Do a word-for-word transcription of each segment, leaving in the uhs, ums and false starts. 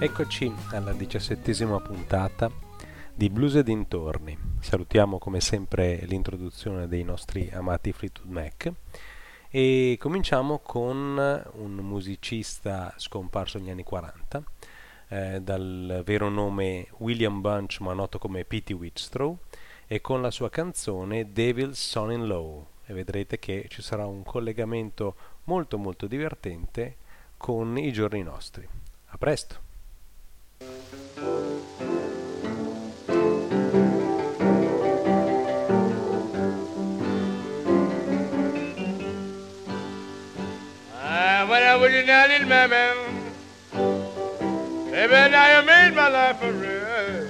Eccoci alla diciassettesima puntata di Blues e dintorni. Salutiamo come sempre l'introduzione dei nostri amati Fleetwood Mac e cominciamo con un musicista scomparso negli anni quaranta, eh, dal vero nome William Bunch ma noto come Petey Wheatstraw, e con la sua canzone Devil's Son-in-Law, e vedrete che ci sarà un collegamento molto molto divertente con i giorni nostri. A presto! Ah, when I was in that little man, baby, now you made my life a real.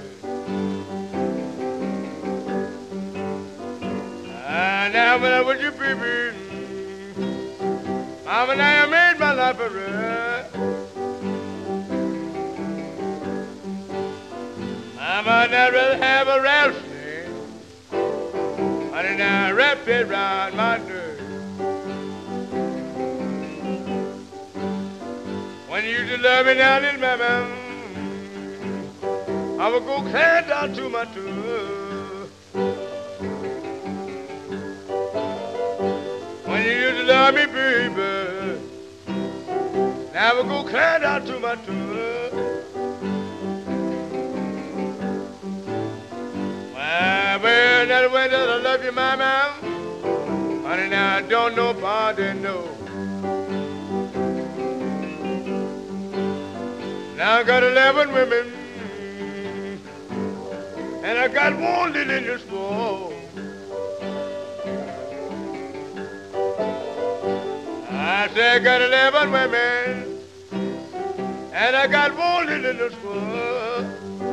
Ah, now when I was your baby, mama, now you made my life a real. Mama, I'd rather have a rattlesnake, honey, now wrap it round my neck. When you used to love me now, little mama, I would go clear down to my toe. When you used to love me, baby, now I would go clear down to my toe. Well, that way that I love you, mama, honey, now I don't nobody know. Now I got eleven women, and I got one little in this world. I say I got eleven women, and I got one little in this world.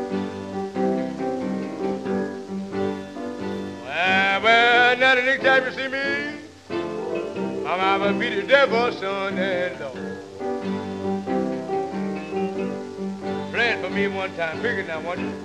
Well, well, now the next time you see me, I'm gonna be the devil's son-in-law. Play it for me one time, bigger now, won't you?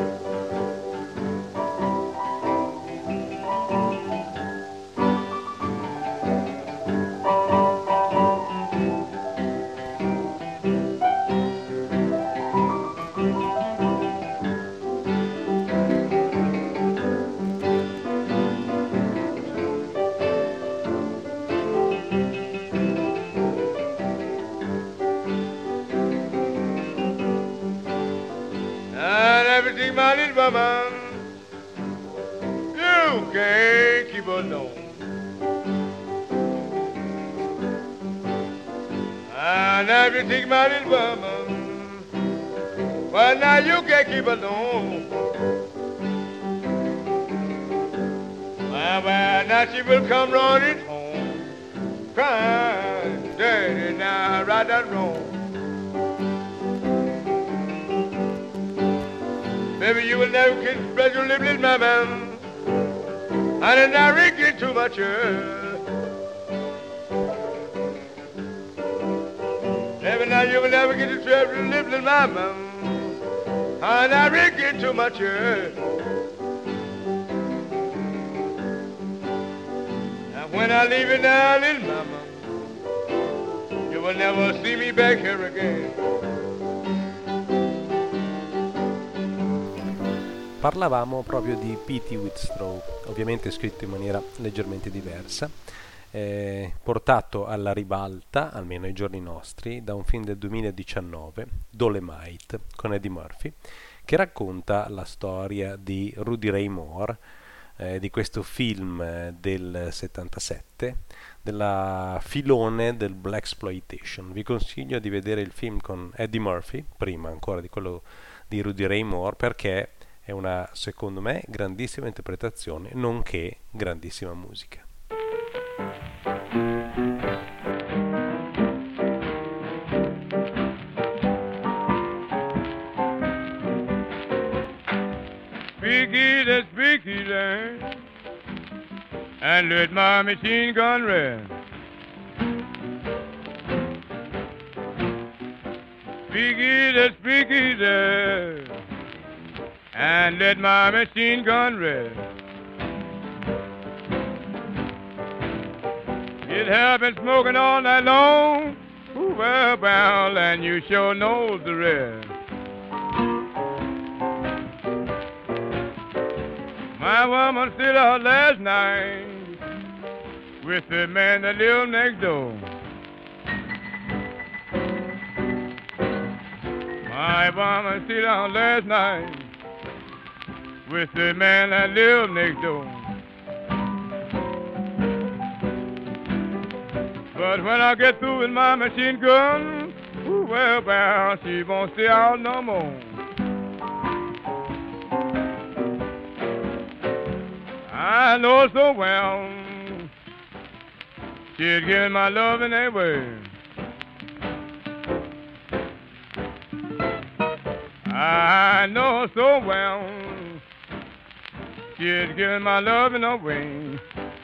My little mama, you can't keep alone. And if you take my little mama, well now you can't keep alone. Well, well now she will come running home, crying, Daddy, now right that wrong. Baby, you will never kiss spread your little, little mama, and then I rig it too much. Baby, now you will never get to spread your little, little mama, and I rig it too much. Now when I leave you now, little mama, you will never see me back here again. Parlavamo proprio di Petey Wheatstraw, ovviamente scritto in maniera leggermente diversa, eh, portato alla ribalta, almeno ai giorni nostri, da un film del duemiladiciannove, Dolemite, con Eddie Murphy, che racconta la storia di Rudy Ray Moore, eh, di questo film eh, del settantasette, della filone del blaxploitation. Vi consiglio di vedere il film con Eddie Murphy, prima ancora di quello di Rudy Ray Moore, perché è una, secondo me, grandissima interpretazione, nonché grandissima musica. Speak easy, speak easy, and let my machine gun rest. Speak easy, speak easy, and let my machine gun rest. It have been smoking all night long. Ooh, well bound, and you sure know the rest. My woman stayed out last night with the man that lived next door. My woman stayed out last night with the man that lived next door. But when I get through with my machine gun, ooh, well bound, she won't stay out no more. I know so well she's giving my love in that way. I know so well she's giving my love in a way.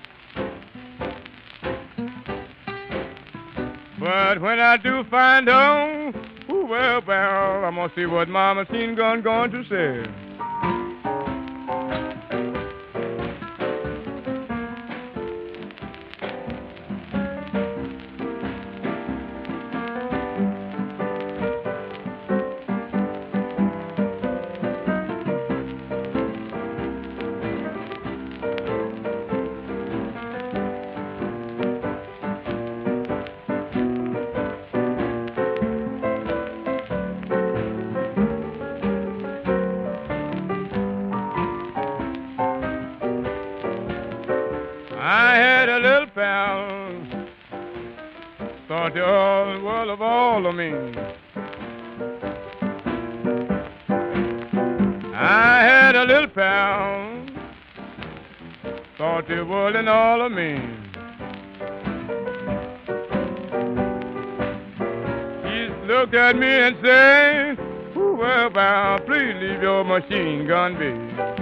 But when I do find her, ooh, well, well, I'm gonna see what my machine gun going to say. I had a little pal, thought the whole world of all of me. I had a little pal, thought the world and all of me. He looked at me and said, "Ooh, well, pal, please leave your machine gun be."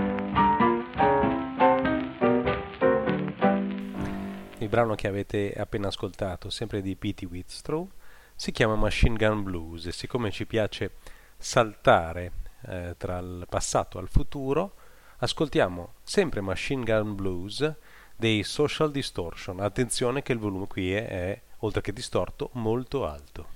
Il brano che avete appena ascoltato, sempre di Petey Wheatstraw, si chiama Machine Gun Blues e siccome ci piace saltare eh, tra il passato al futuro, ascoltiamo sempre Machine Gun Blues dei Social Distortion. Attenzione che il volume qui è, è oltre che distorto, molto alto.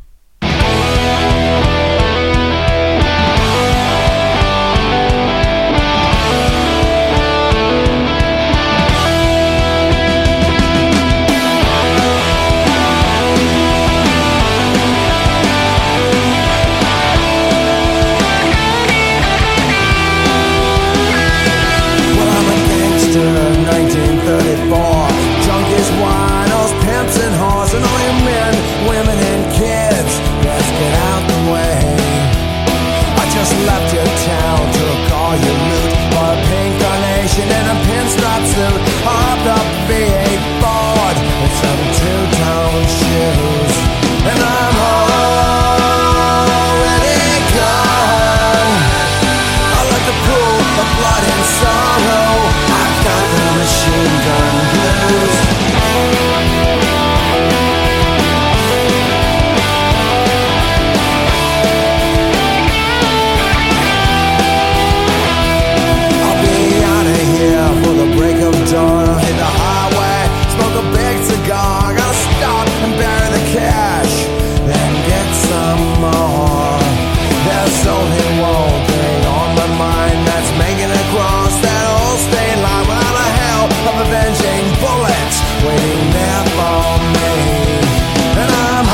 nineteen thirty-four, junkies, winos, pimps and whores, and all you men, women and kids, let's get out the way. I just left your town, took all your loot, for a pink carnation and a pinstripe suit, hopped up V eight Ford and some two-tone shoes, and I'm already gone. I like the pool of blood and sorrow. I've got the machine gun blues. I'll be out of here for the break of dawn. I'll hit the highway, smoke a big cigar. Gotta stop and bury the cash, then get some more. There's only one thing on my mind, that's making it across that old state line without a hell of avenging bullets waiting there for me. And I'm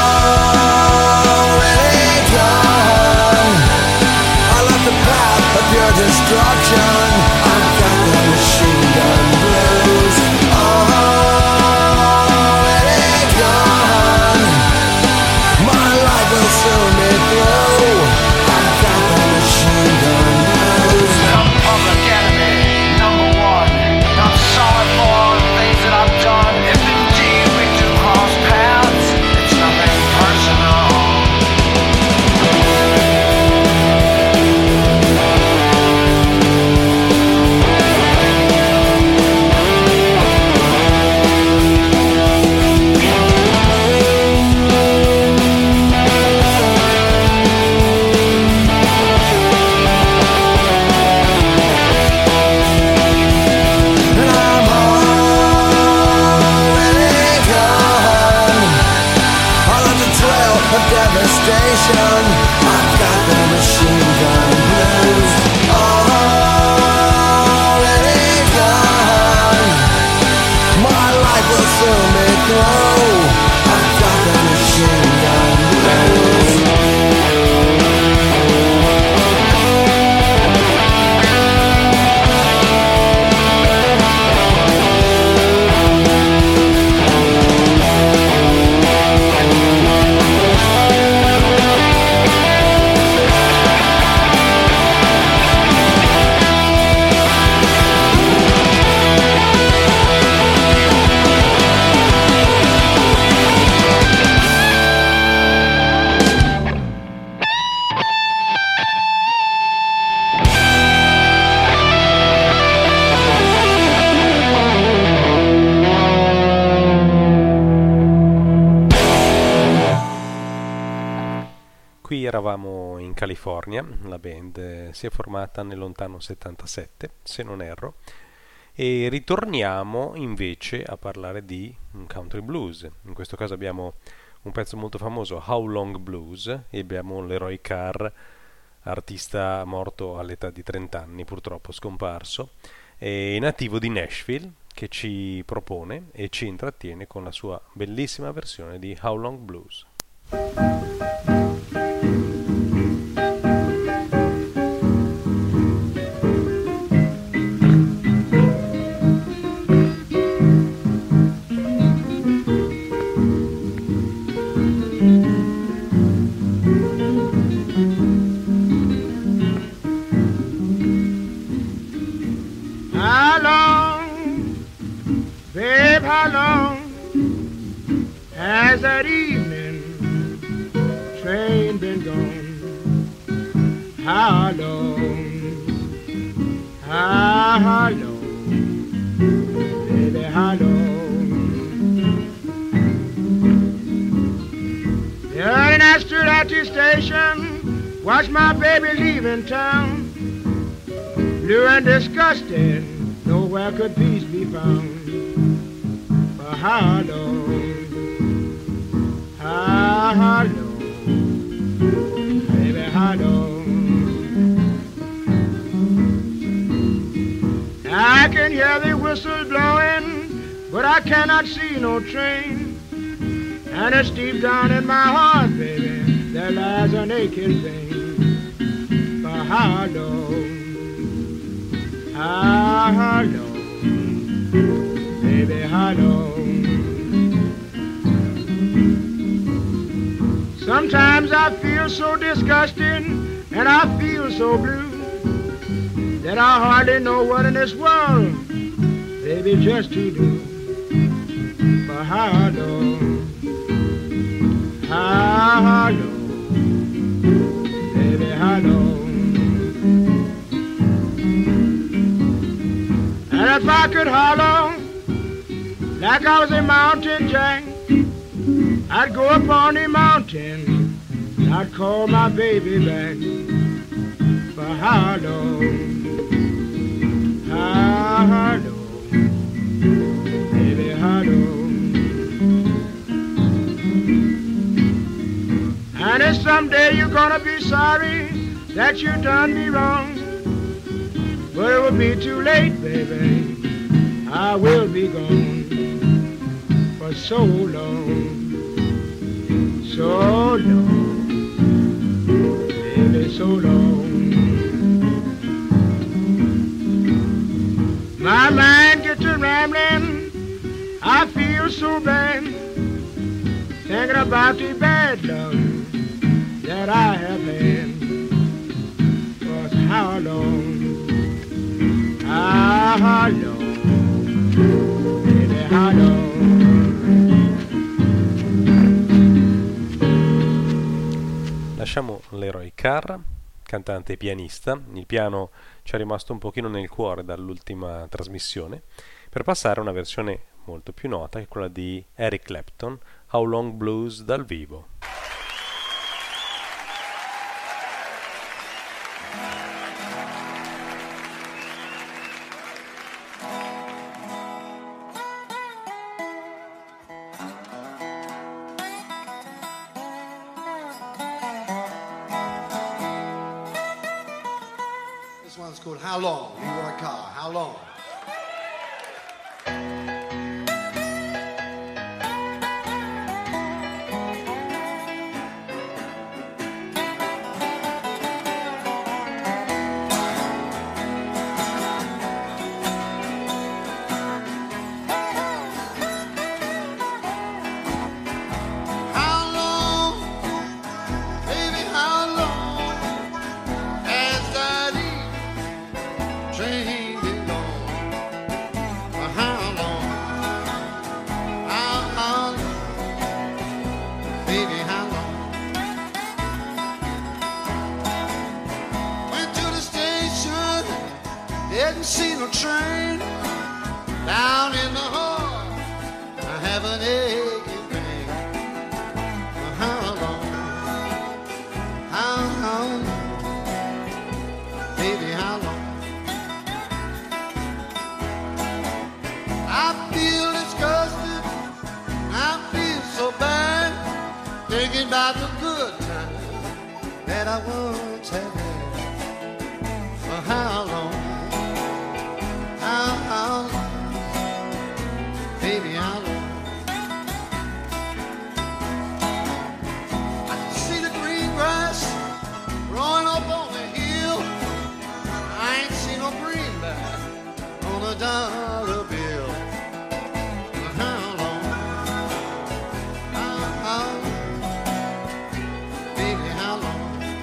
already gone. I left the path of pure destruction. I've got the machine gun blues. Already gone. My life will soon be through. I've got the devastation. I've got the machine gun blues. Already gone. My life will soon be through. I've got the machine gun blues. Qui eravamo in California, la band eh, si è formata nel lontano settantasette, se non erro, e ritorniamo invece a parlare di un country blues. In questo caso abbiamo un pezzo molto famoso, How Long Blues, e abbiamo Leroy Carr, artista morto all'età di trenta anni, purtroppo scomparso, e nativo di Nashville, che ci propone e ci intrattiene con la sua bellissima versione di How Long Blues. How long has that evening train been gone? How long, how, how long, baby, how long? The early night stood at the station, watched my baby leaving town. Blue and disgusted, nowhere could peace be found. How long, how, how long, baby, how long? I can hear the whistle blowing, but I cannot see no train. And it's deep down in my heart, baby, there lies an aching pain. For how long, how, how long, baby, how long? Sometimes I feel so disgusting and I feel so blue that I hardly know what in this world, baby, just to do. For how long, how, how long, baby, how long? And if I could holler like I was a mountain jack, I'd go up on the mountain, I'd call my baby back. For how long, how, how long, baby, how long? And if someday you're gonna be sorry that you done me wrong, but it will be too late, baby, I will be gone for so long. So long, baby, so long. My mind gets to rambling, I feel so bad, thinking about the bad luck that I have had. For how long, how, how long, baby, how long? Lasciamo Leroy Carr, cantante e pianista. Il piano ci è rimasto un pochino nel cuore dall'ultima trasmissione, per passare a una versione molto più nota, che è quella di Eric Clapton, How Long Blues dal vivo. It's called How Long? You Want a Car? How long? Didn't see no train down in the hall. I have an aching pain. How long? How long? Baby, how long? I feel disgusted. I feel so bad. Thinking about the good times that I once had. For how long? How, how, baby, how long? I can see the green grass growing up on the hill. I ain't seen no greenback on a dollar bill. How long? How, how, baby, how long?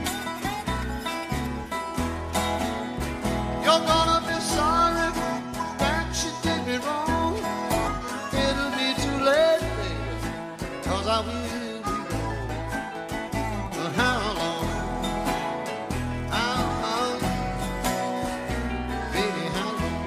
You're gonna be sorry she did me wrong. It'll be too late, baby, 'cause I will be gone. But how long? How, how, baby, how long?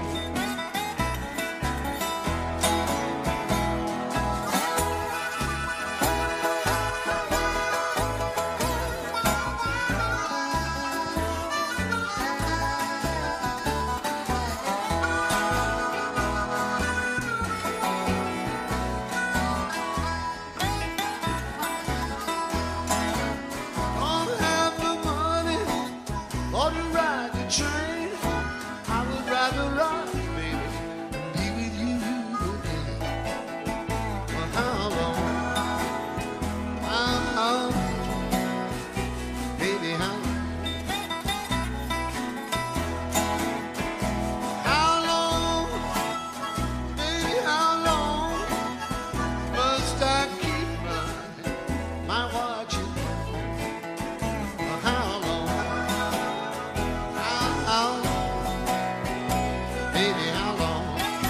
Train, I would rather run, baby, and be with you again. For how long? How, how, baby, how long? How long, baby, how long must I keep my, my watching? For how long? How, baby, how long?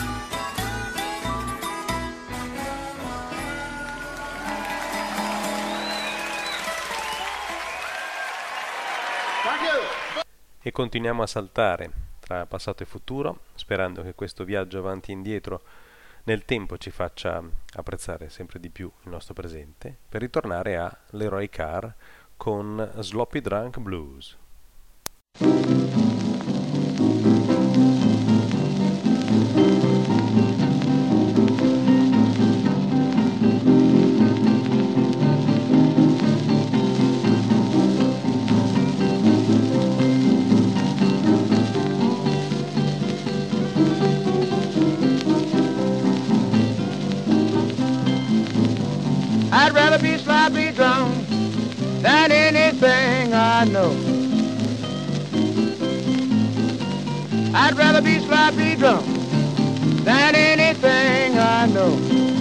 Thank you. E continuiamo a saltare tra passato e futuro, sperando che questo viaggio avanti e indietro nel tempo ci faccia apprezzare sempre di più il nostro presente, per ritornare a Leroy Carr con Sloppy Drunk Blues. I'd rather be sloppy drunk than anything I know. I'd rather be sloppy drunk than anything I know.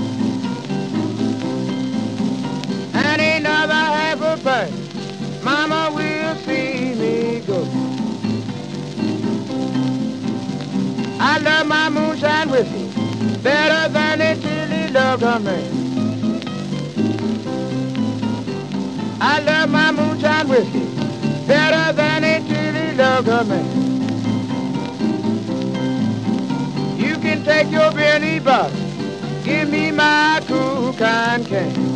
And another half a pint, Mama will see me go. I love my moonshine whiskey better than it chili loved her man. I love my moonshine whiskey better than it chili loved her man. You can take your Benny bottle, give me my cool kind can.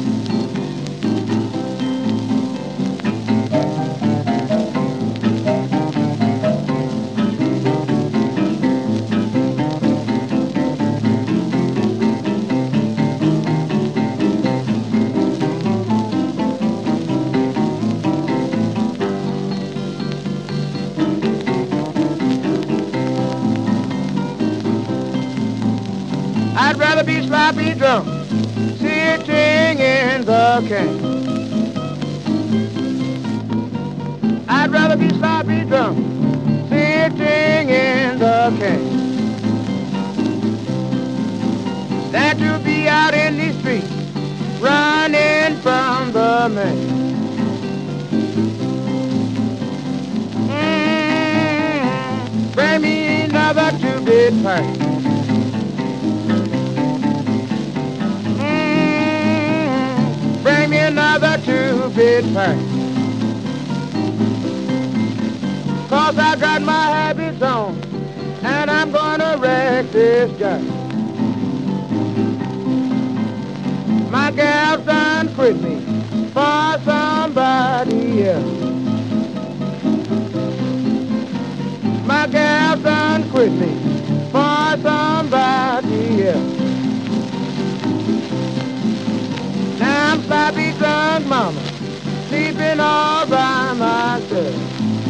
sloppy drunk, sitting in the can. I'd rather be sloppy drunk, sitting in the can, than to be out in the street, running from the man. Mm, bring me another two-bit pipe. Mm, bring me another two-bit pipe. 'Cause I got my habits on, and I'm gonna wreck this guy. My gal's done quit me for somebody else. My gal's done quit me for somebody else. Now I'm sloppy drunk, mama, sleeping all by myself.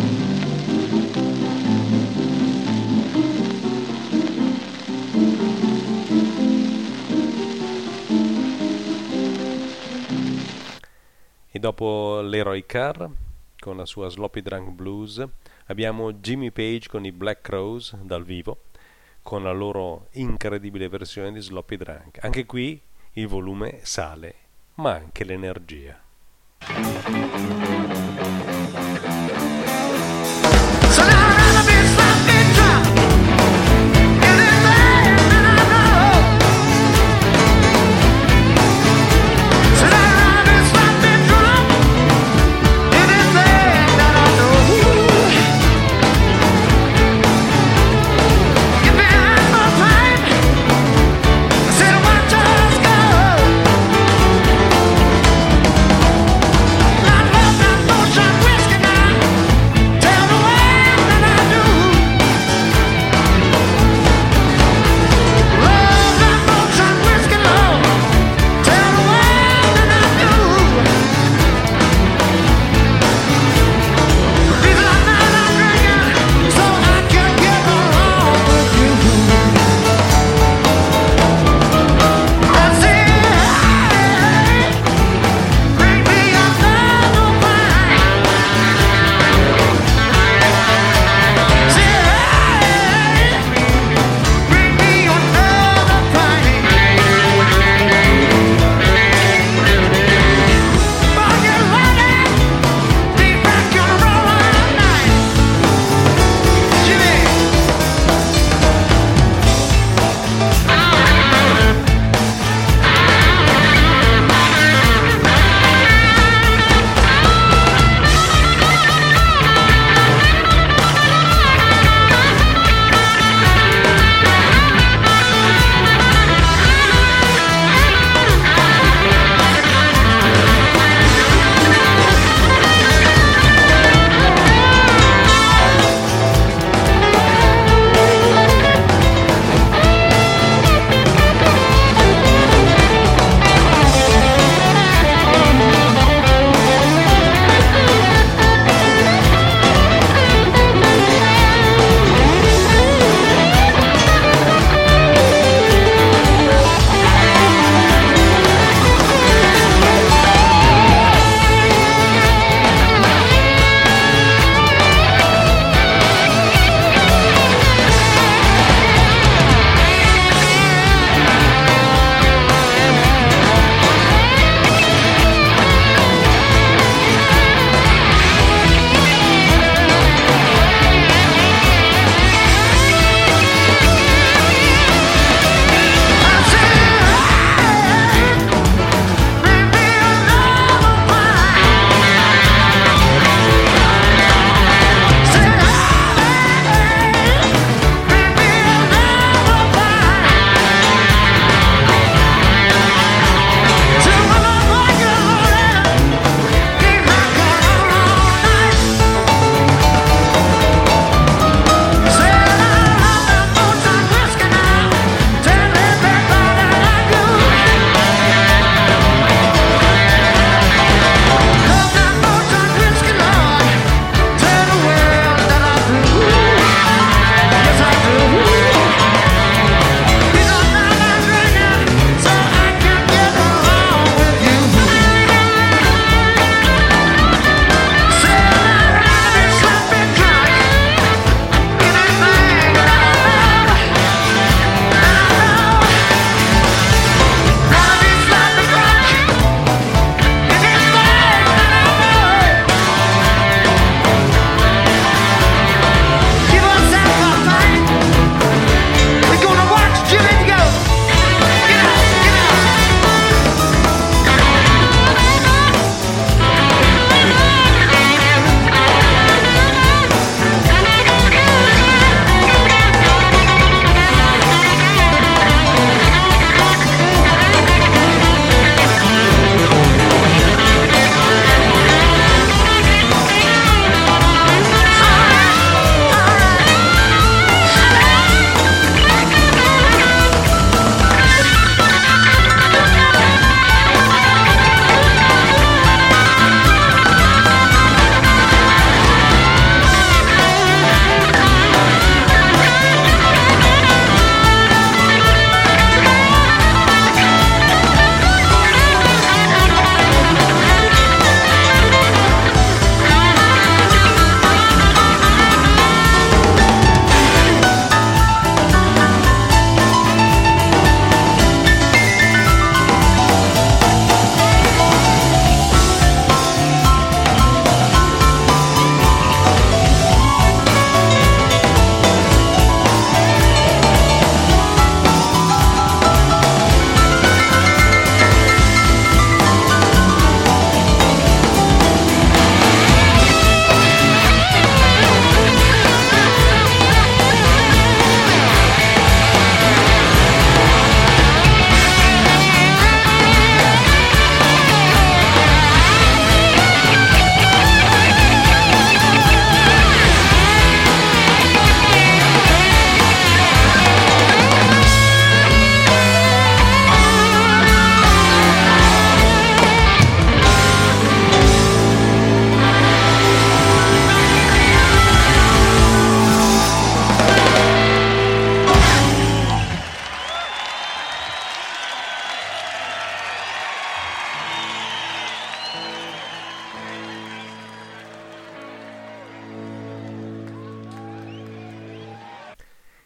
E dopo Leroy Carr con la sua Sloppy Drunk Blues abbiamo Jimmy Page con i Black Crowes dal vivo con la loro incredibile versione di Sloppy Drunk. Anche qui il volume sale, ma anche l'energia. Not love, not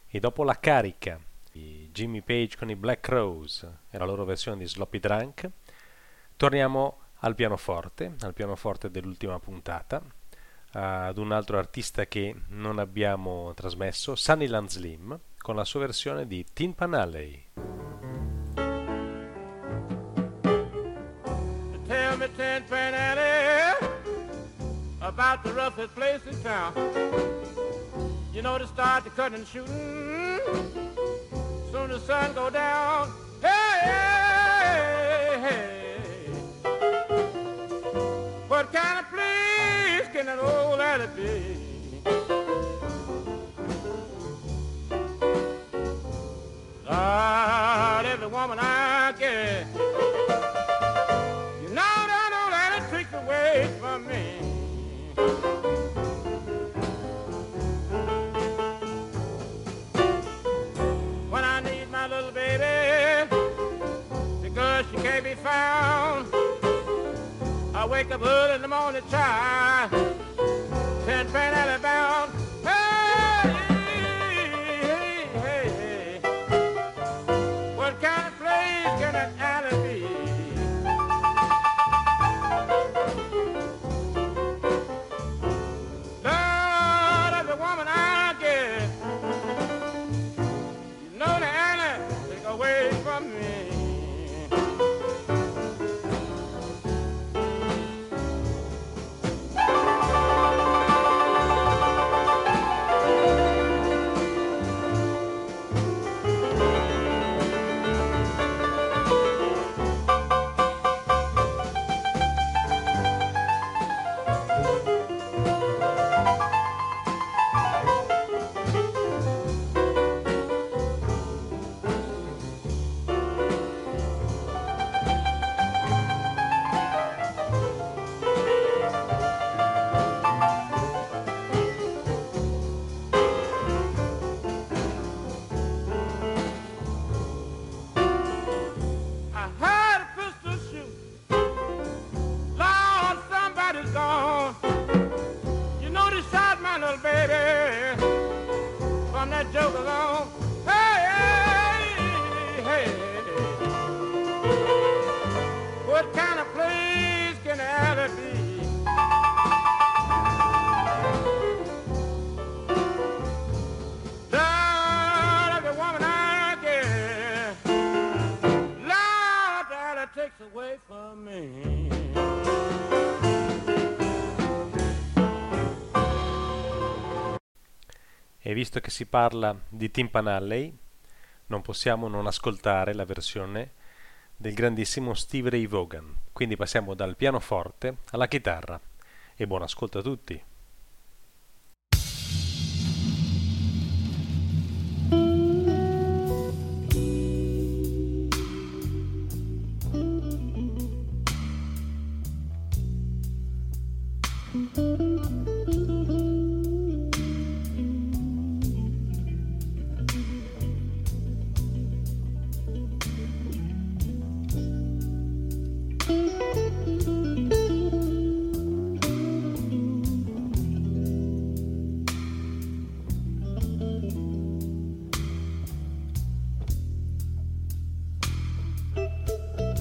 E dopo la carica di Jimmy Page con i Black Crowes e la loro versione di Sloppy Drunk, torniamo al pianoforte, al pianoforte dell'ultima puntata, ad un altro artista che non abbiamo trasmesso, Sunnyland Slim, con la sua versione di Tin Pan Alley. Tell me, Tin Pan Alley, about the roughest place in town. You know, to start the cutting and shooting, soon the sun go down. Hey, hey, hey. What kind of place can an old alley be? Lord, every woman I get, you know that old alley tricks away from me. When I need my little baby, because she can't be found, I wake up early in the morning, child, Tin Pan Alley bound. Hey, hey, hey, hey. What kind of place can that alley be? Lord, every woman I get, you know the alley take away from me. E visto che si parla di Tin Pan Alley, non possiamo non ascoltare la versione del grandissimo Stevie Ray Vaughan. Quindi passiamo dal pianoforte alla chitarra. E buon ascolto a tutti!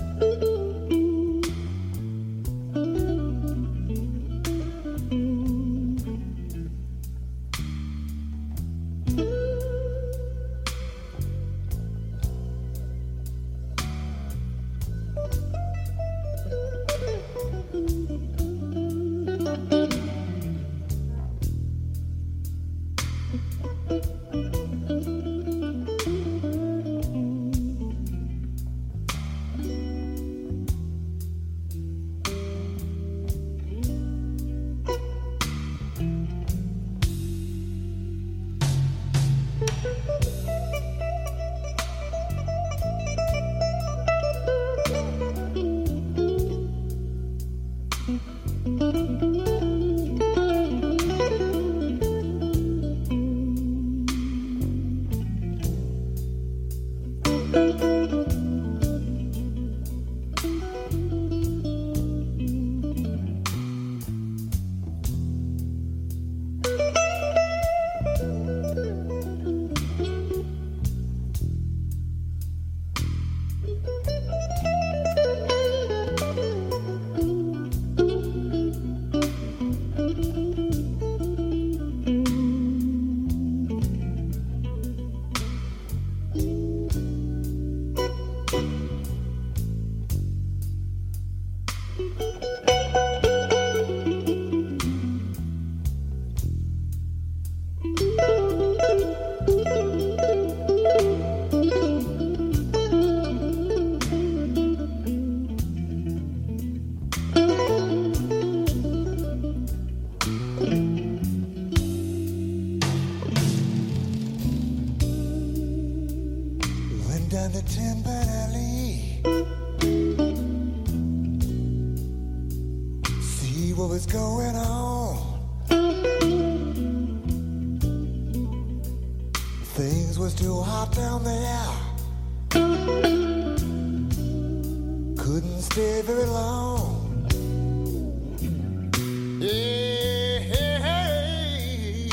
Thank you. Tin Pan Alley. See what was going on. Things was too hot down there. Couldn't stay very long. Hey, hey, hey.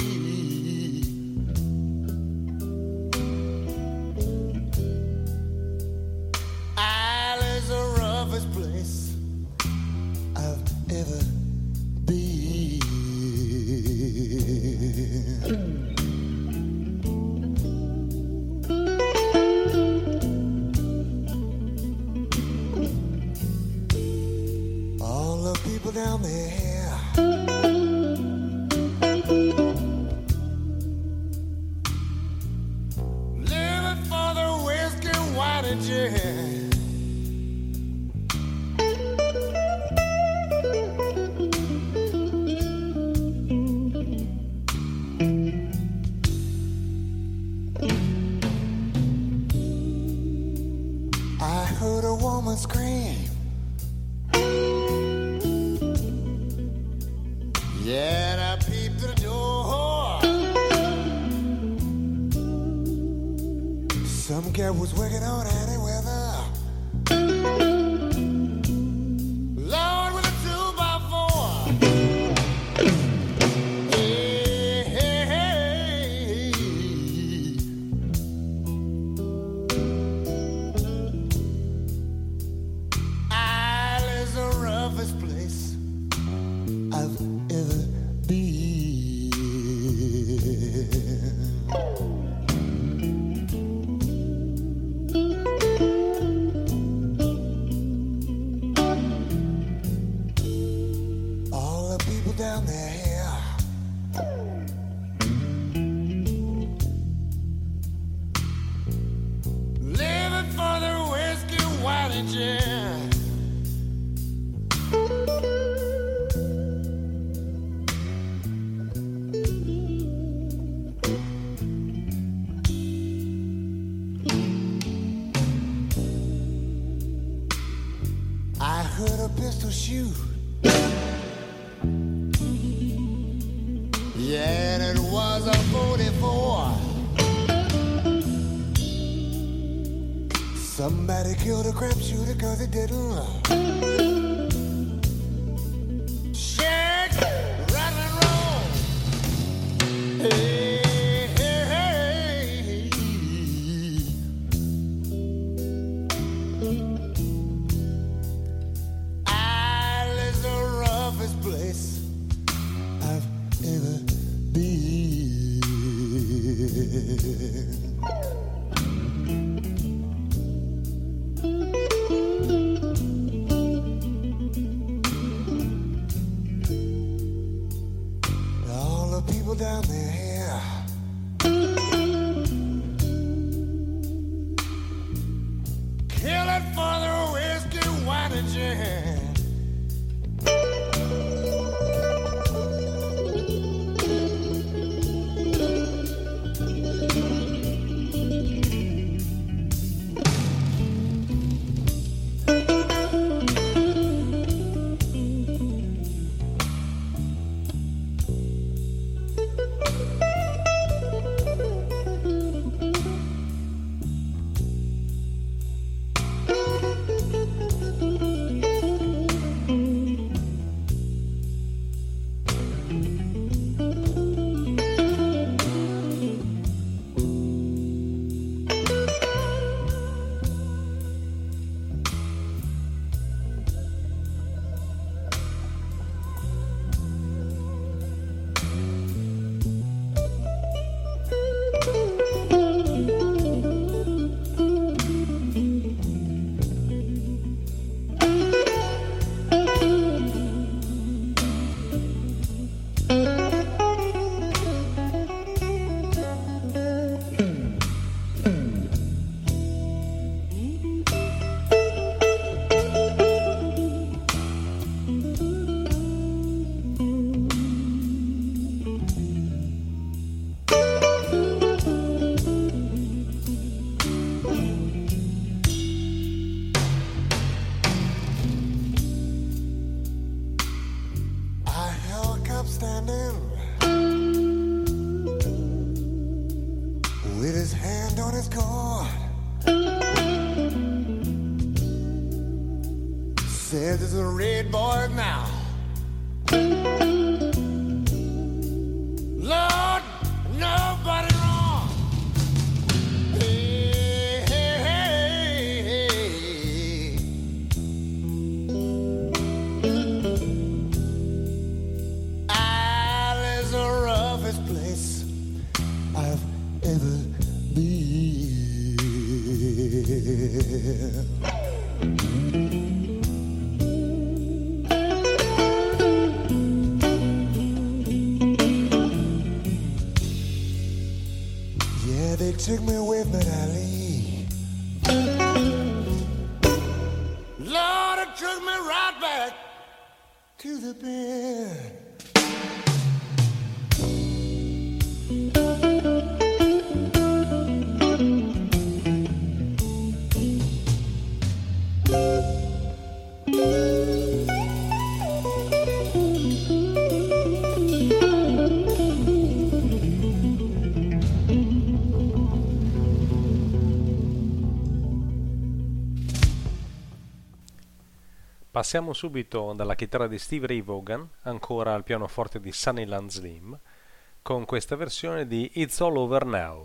Ireland's the roughest place I've ever been. People down there, living for the whiskey, wine and gin. I heard a woman scream. Yeah, and I peeped through the door. Some girl was working on any weather. Lord, with a two by four. Hey, hey, hey. Island's the roughest place I've ever been. All the people down there, living for the whiskey, wine and gin. I heard a pistol shoot. Yeah, and it was a forty-four. Somebody killed a crap shooter cause it didn't shake, rattle and roll. Hey, hey, hey. Island's the roughest place I've ever been. All the people down there, killing for the whiskey, wine and gin. postcard. Said there's a red boy now. Lord, nobody wrong. Hey, hey, hey, hey. Isle is the roughest place I've ever been. Yeah, they took me away from Ali. Lord, it took me right back to the bed. Passiamo subito dalla chitarra di Steve Ray Vaughan ancora al pianoforte di Sunnyland Slim con questa versione di It's All Over Now.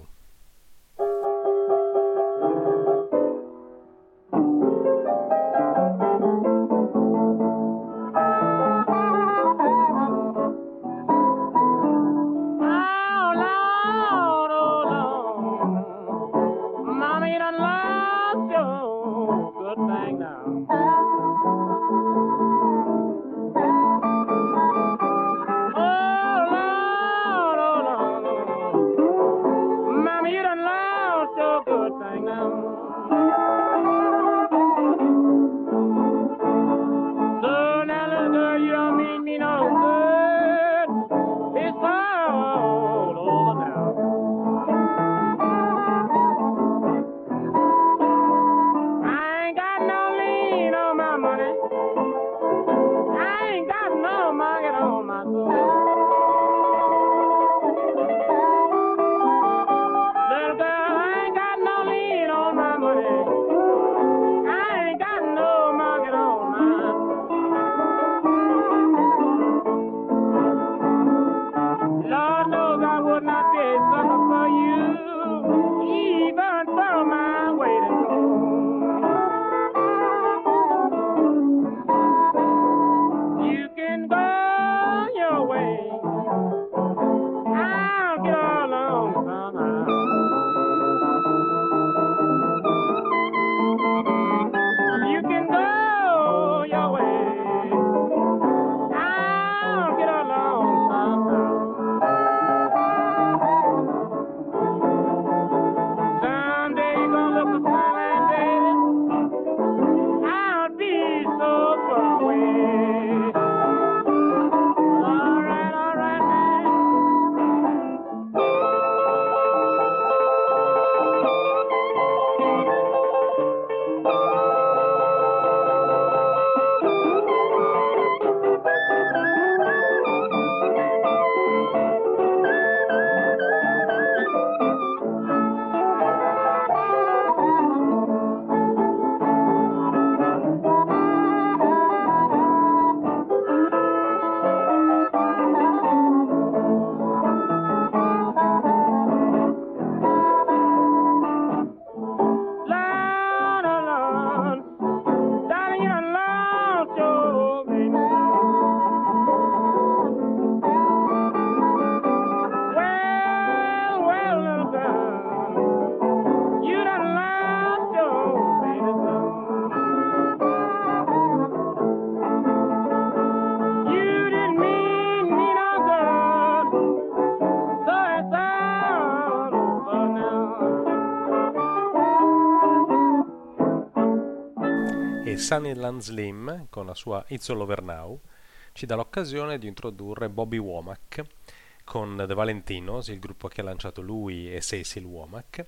Sunnyland Slim con la sua It's All Over Now ci dà l'occasione di introdurre Bobby Womack con The Valentinos, il gruppo che ha lanciato lui e Cecil Womack,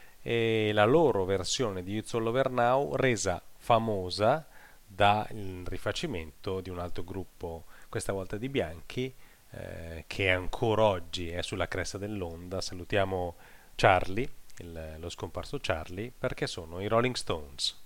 e la loro versione di It's All Over Now resa famosa dal rifacimento di un altro gruppo, questa volta di bianchi, eh, che ancora oggi è sulla cresta dell'onda. Salutiamo Charlie, il, lo scomparso Charlie, perché sono i Rolling Stones.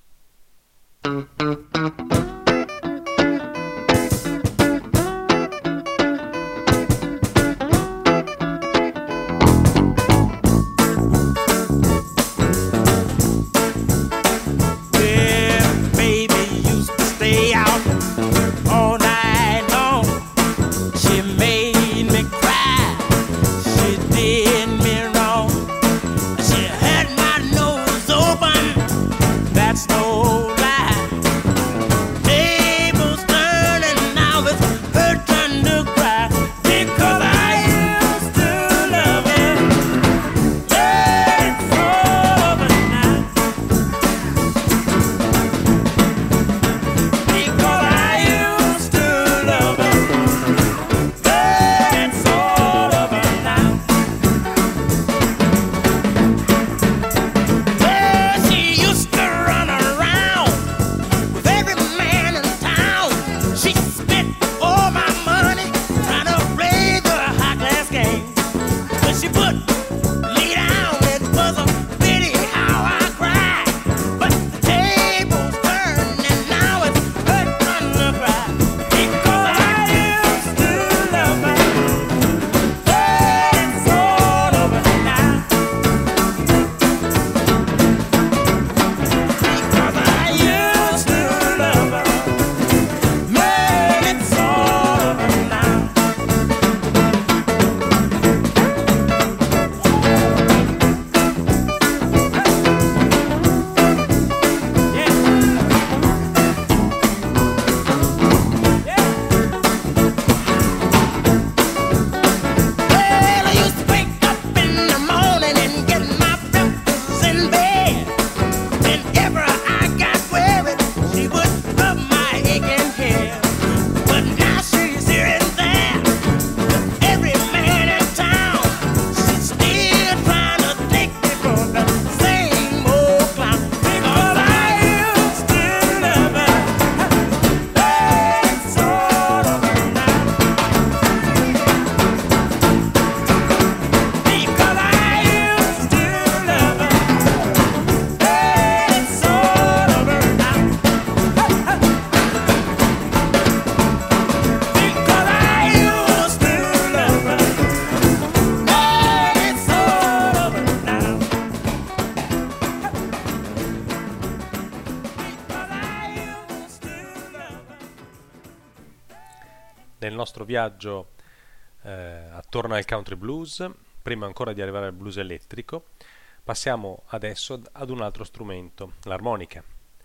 Nel nostro viaggio eh, attorno al country blues, prima ancora di arrivare al blues elettrico, passiamo adesso ad un altro strumento, l'armonica,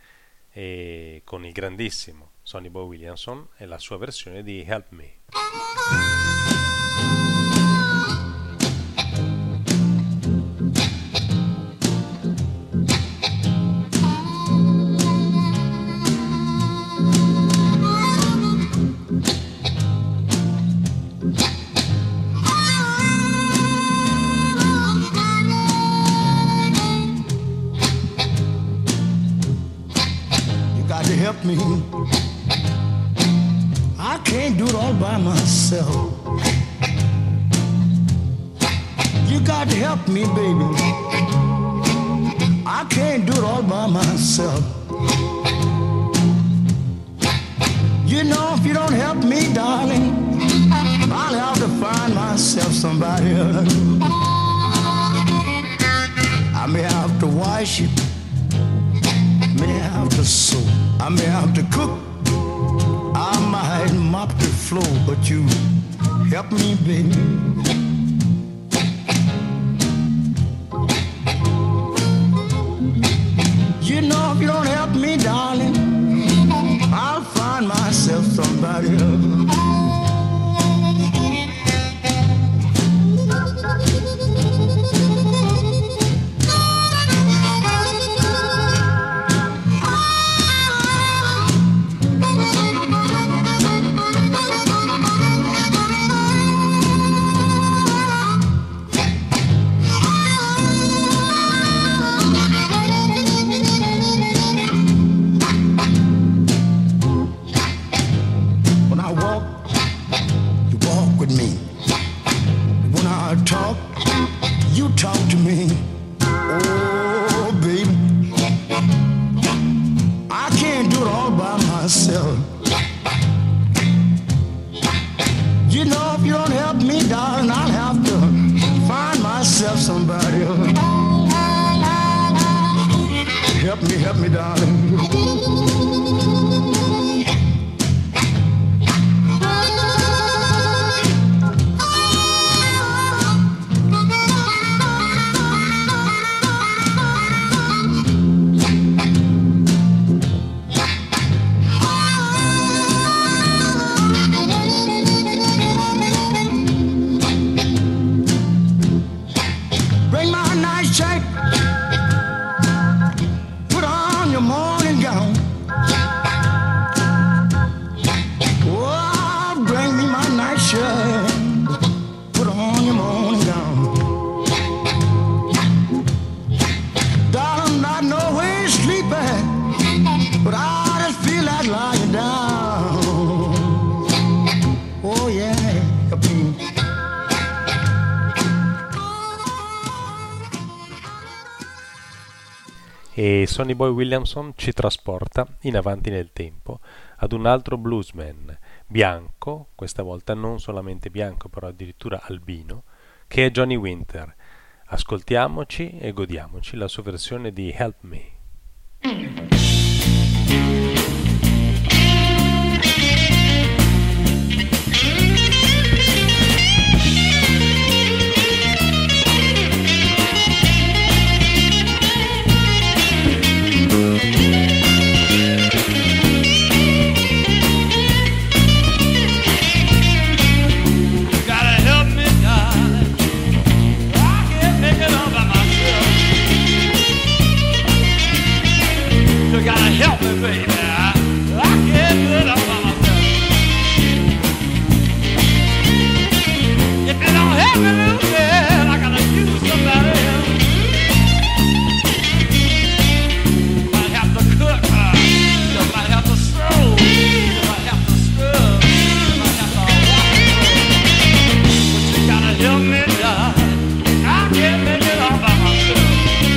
e con il grandissimo Sonny Boy Williamson e la sua versione di Help Me. Help me. I can't do it all by myself. You got to help me, baby. I can't do it all by myself. You know, if you don't help me, darling, I'll have to find myself somebody else. I may have to wash it, may have to sew, I may have to cook, I might mop the floor, but you help me, baby. You know, if you don't help me, darling, I'll find myself somebody else. Talk to me, oh e Sonny Boy Williamson ci trasporta in avanti nel tempo ad un altro bluesman bianco, questa volta non solamente bianco però addirittura albino, che è Johnny Winter. Ascoltiamoci e godiamoci la sua versione di Help Me. Help me, baby. I can't do it all by myself. If you don't help me, little girl, I gotta use somebody else. Might have to cook, uh, you might have to sew, you might have to scrub, you might have to wash, but you gotta help me, darling. I can't make it all by myself.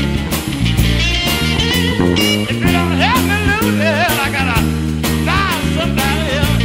If you don't help me, little girl, I gotta find somebody else.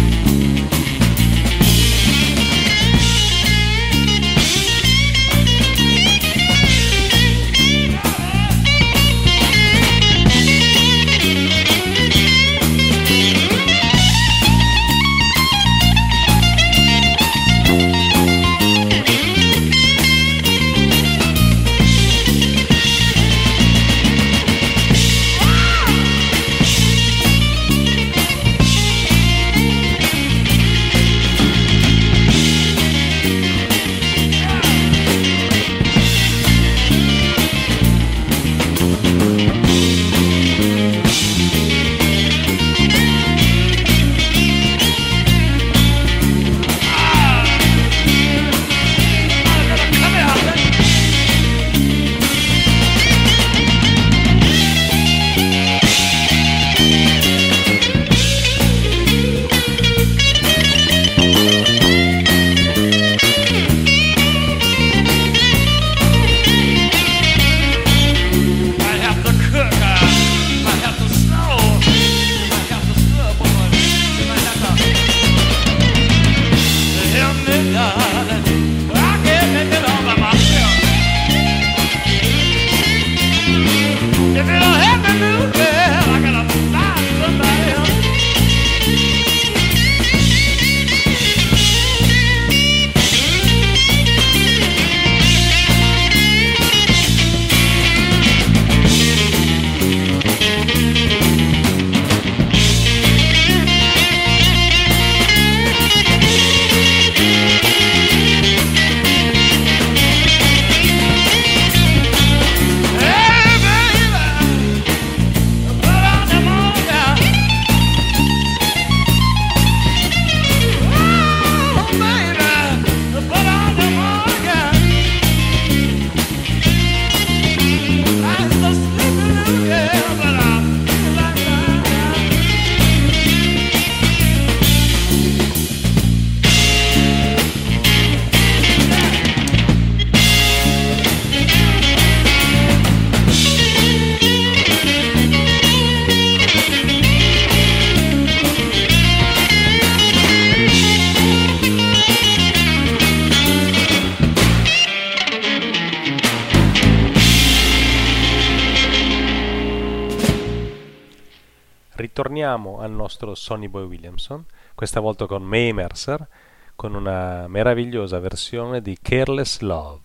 Ritorniamo al nostro Sonny Boy Williamson, questa volta con Mae Mercer, con una meravigliosa versione di Careless Love.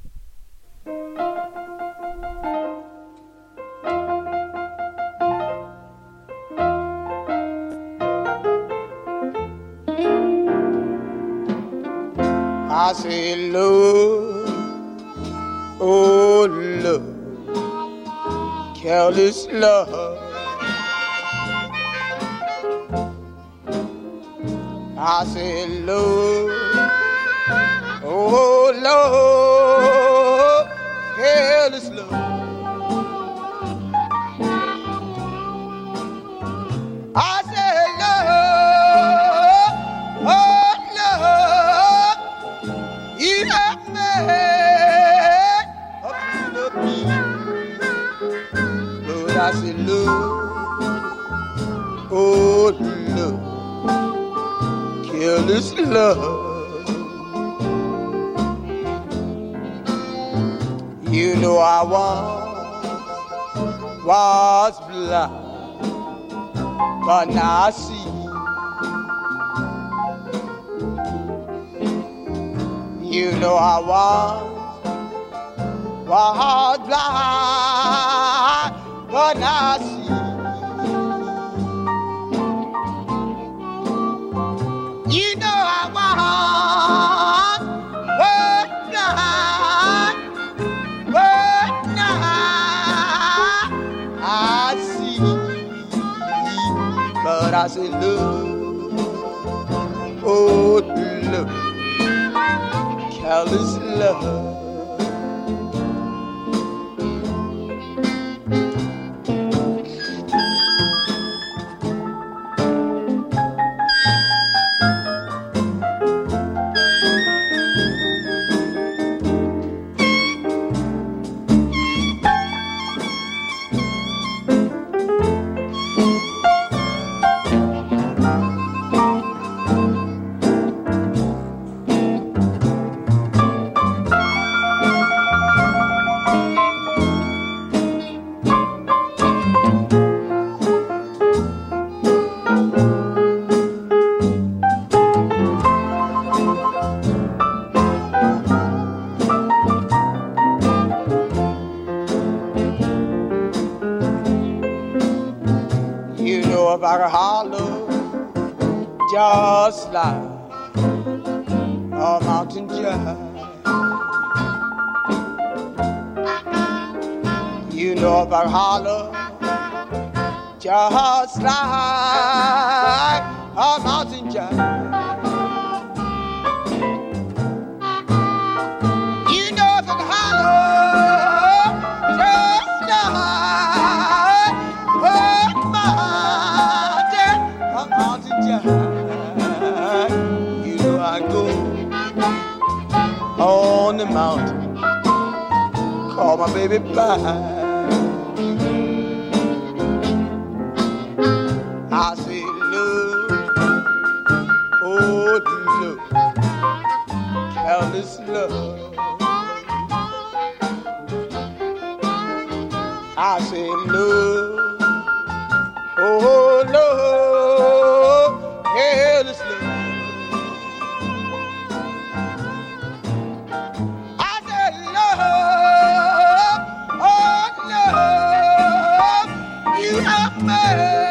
I say love, oh love, careless love. I say love, oh love, careless love. I say love, oh love, you have made a fool of me. I say love, oh love, careless love. You know I was, was blind, but now I see. You know I was, was blind, but now I see. You know I was, was blind, but now I see. But I say love, oh love, careless love. I can holler just like a mountain giant. You know if I holler just like a mountain giant. You know if I holler just like a mountain, a mountain giant. You know I go on the mountain, call my baby by. I say love, oh love, careless love. I say love, oh love, careless love. I say love, oh love, you have made.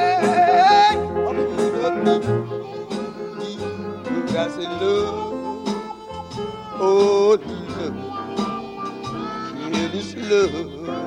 I say love, oh love, careless love.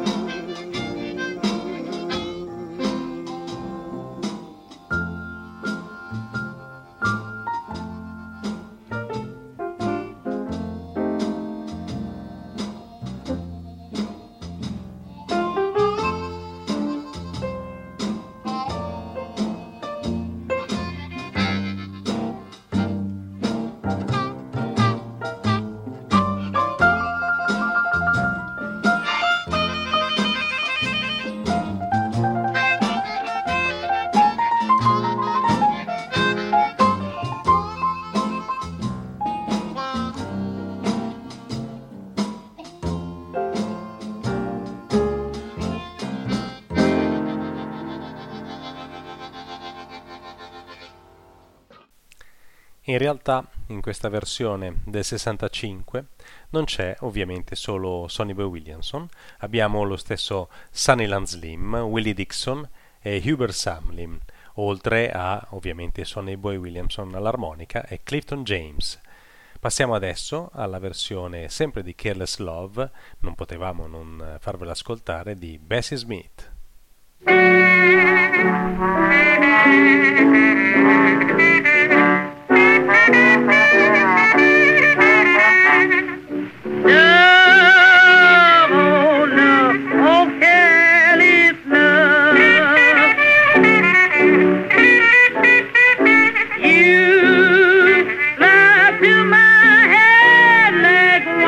In realtà in questa versione del sessantacinque non c'è ovviamente solo Sonny Boy Williamson, abbiamo lo stesso Sunnyland Slim, Willie Dixon e Hubert Sumlin, oltre a ovviamente Sonny Boy Williamson all'armonica e Clifton James. Passiamo adesso alla versione sempre di Careless Love, non potevamo non farvela ascoltare, di Bessie Smith.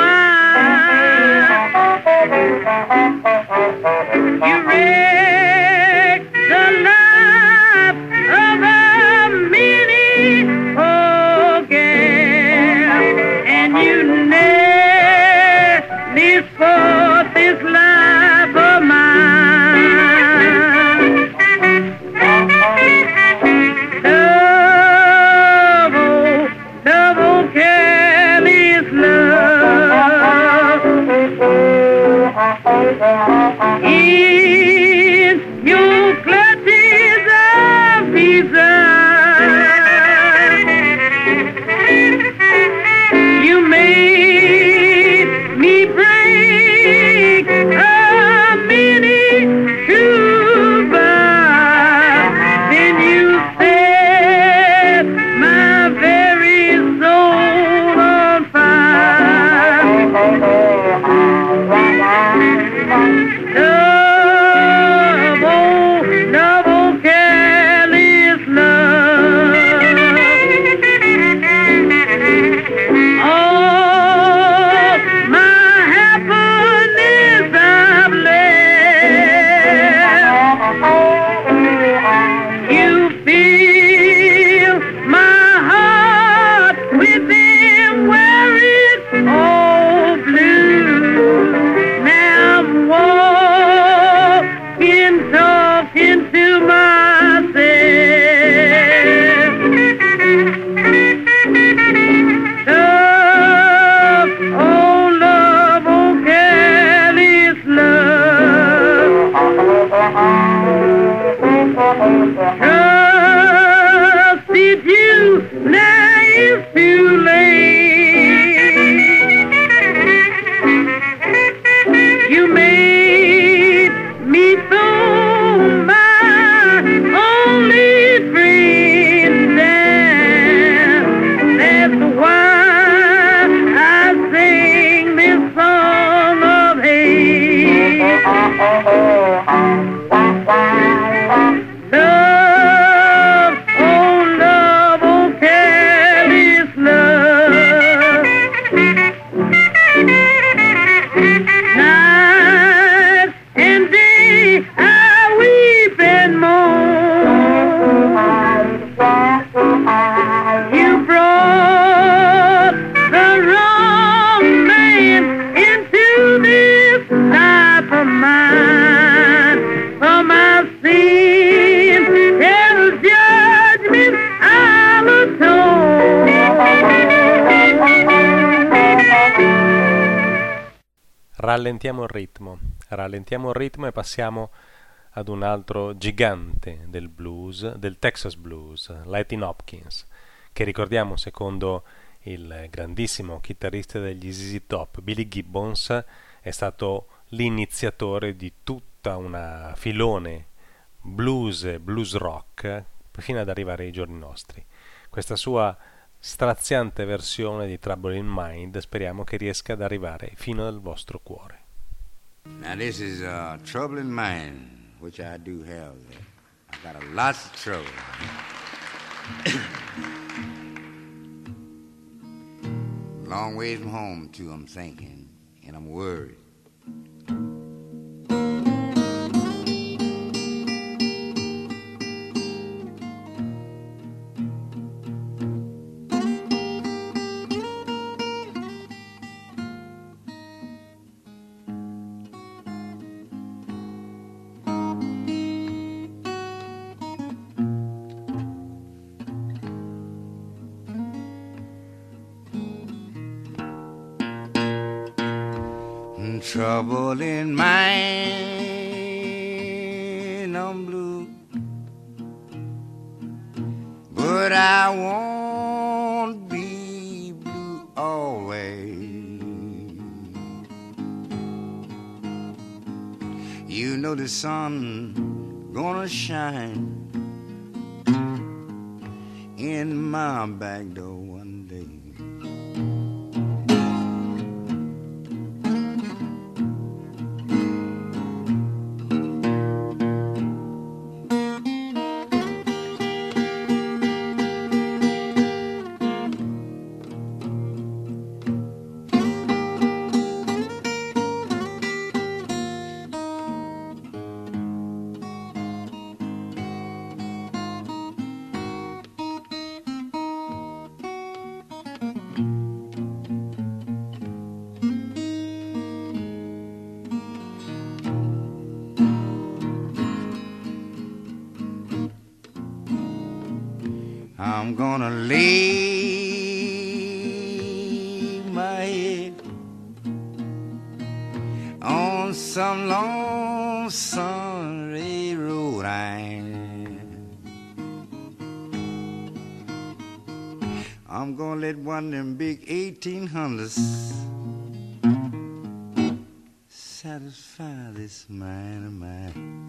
You read forth this life of mine. Love, oh, love, oh, careless love. In your clutches of desire, you made me break a many true vows. Then you set my very soul on fire. Love, oh, love, oh, careless love. All my happiness I've left. You fill my heart with them where it's all blue. Now I'm walking, talking to myself. Love, oh love, oh careless love. Trusted you, now it's too late. You made me throw my only friend down. That's why I sing this song of hate. Love, oh love, oh careless love. Night and day I weep and moan. You brought the wrong man into this life of mine. For my sin, hell's judgment I'll atone. Rallentiamo il ritmo, rallentiamo il ritmo e passiamo ad un altro gigante del blues, del Texas Blues, Lightning Hopkins, che ricordiamo secondo il grandissimo chitarrista degli Z Z Top, Billy Gibbons, è stato l'iniziatore di tutta una filone blues e blues rock fino ad arrivare ai giorni nostri. Questa sua straziante versione di Trouble in Mind speriamo che riesca ad arrivare fino al vostro cuore. Now this is uh, Trouble in Mind, which I do have. I got a lots of trouble. Long ways from home too, I'm thinking, and I'm worried. Trouble in mind, I'm blue, but I won't be blue always. You know the sun gonna shine in my back door one day. I'm gonna lay my head on some lonesome railroad line. I'm gonna let one of them big eighteen hundreds satisfy this mind of mine.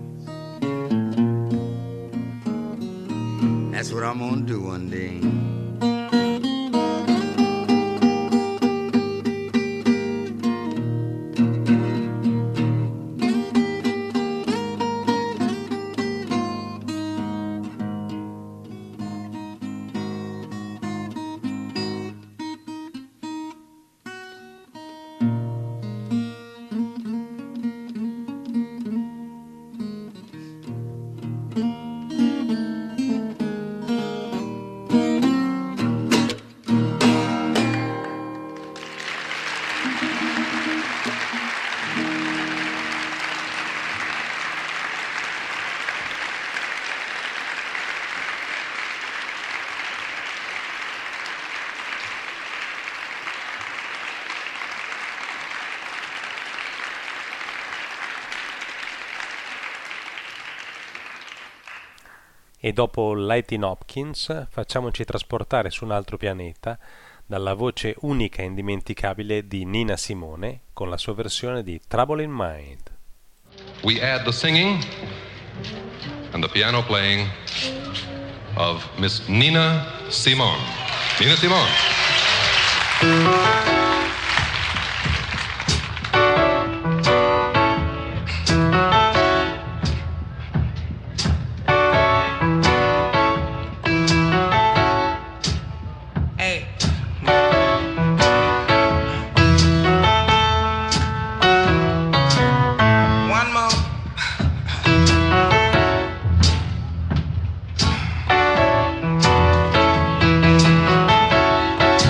That's what I'm gonna do one day. E dopo Lightning Hopkins facciamoci trasportare su un altro pianeta dalla voce unica e indimenticabile di Nina Simone con la sua versione di Trouble in Mind. We add the singing and the piano playing of Miss Nina Simone. Nina Simone. One more.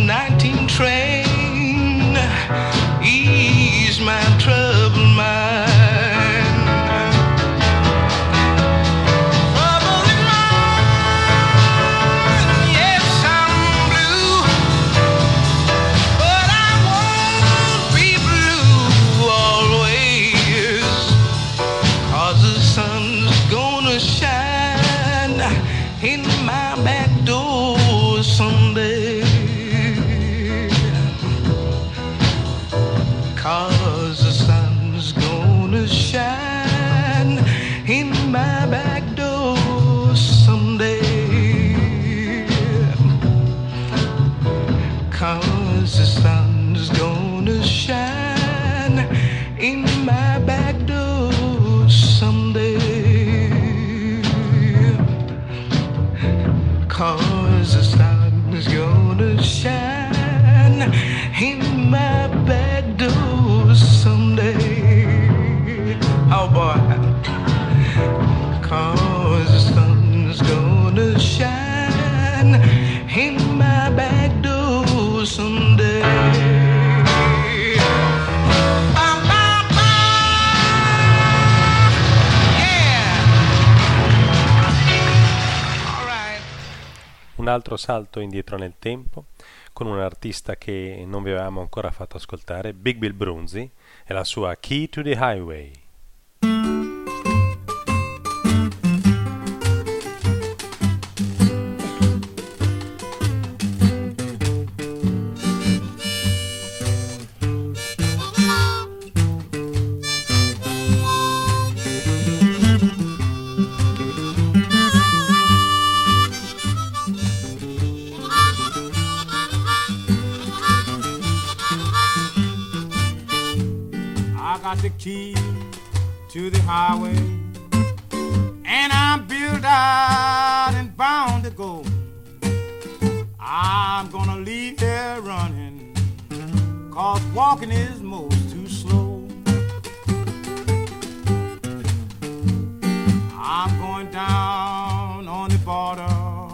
nineteen train ease my troubled mind. Troubled mind, yes, I'm blue, but I won't be blue always, 'cause the sun's gonna shine in my back door someday. 'Cause the sun's gonna shine in my back door someday. 'Cause the sun's gonna shine in my back door someday. 'Cause the sun's gonna shine in my back door someday. Oh boy. 'Cause the sun's gonna shine in my back door someday. Bum, bum, bum. Yeah. All right. Un altro salto indietro nel tempo con un artista che non vi avevamo ancora fatto ascoltare, Big Bill Broonzy, e la sua Key to the Highway. Got the key to the highway, and I'm built out and bound to go. I'm gonna leave here running, 'cause walking is most too slow. I'm going down on the border,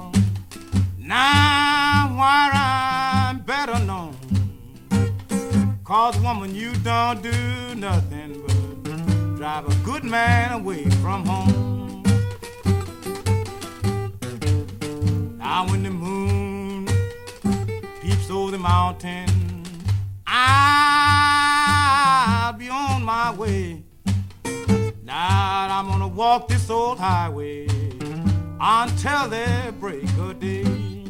now where I'm better known. 'Cause woman, you don't do nothing but drive a good man away from home. Now when the moon peeps over the mountain, I'll be on my way. Now I'm gonna walk this old highway until the break of day.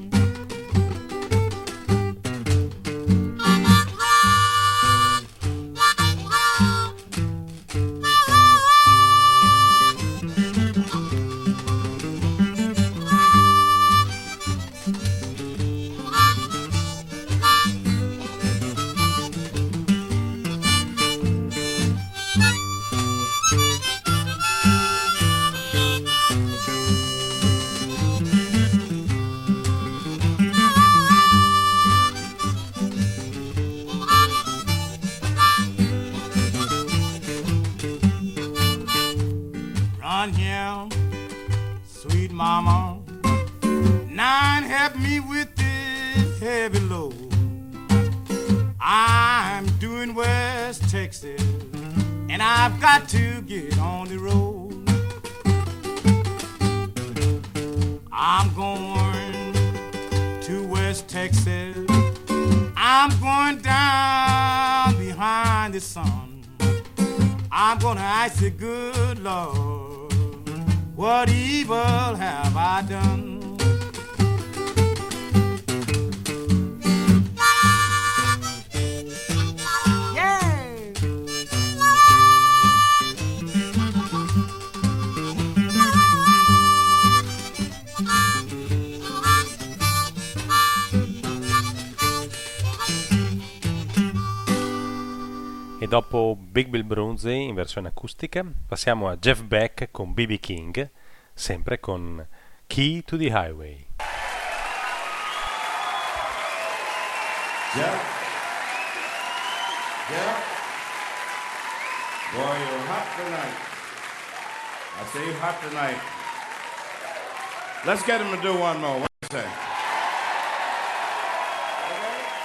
Here, sweet mama, nine help me with this heavy load. I'm doing West Texas, and I've got to get on the road. I'm going to West Texas, I'm going down behind the sun. I'm gonna ask the good Lord, what evil have I done? E dopo Big Bill Broonzy in versione acustica passiamo a Jeff Beck con B B King, sempre con Key to the Highway. Jeff? Jeff? Boy, you're hot tonight. I say you're hot tonight. Let's get him to do one more. What do you say? Okay?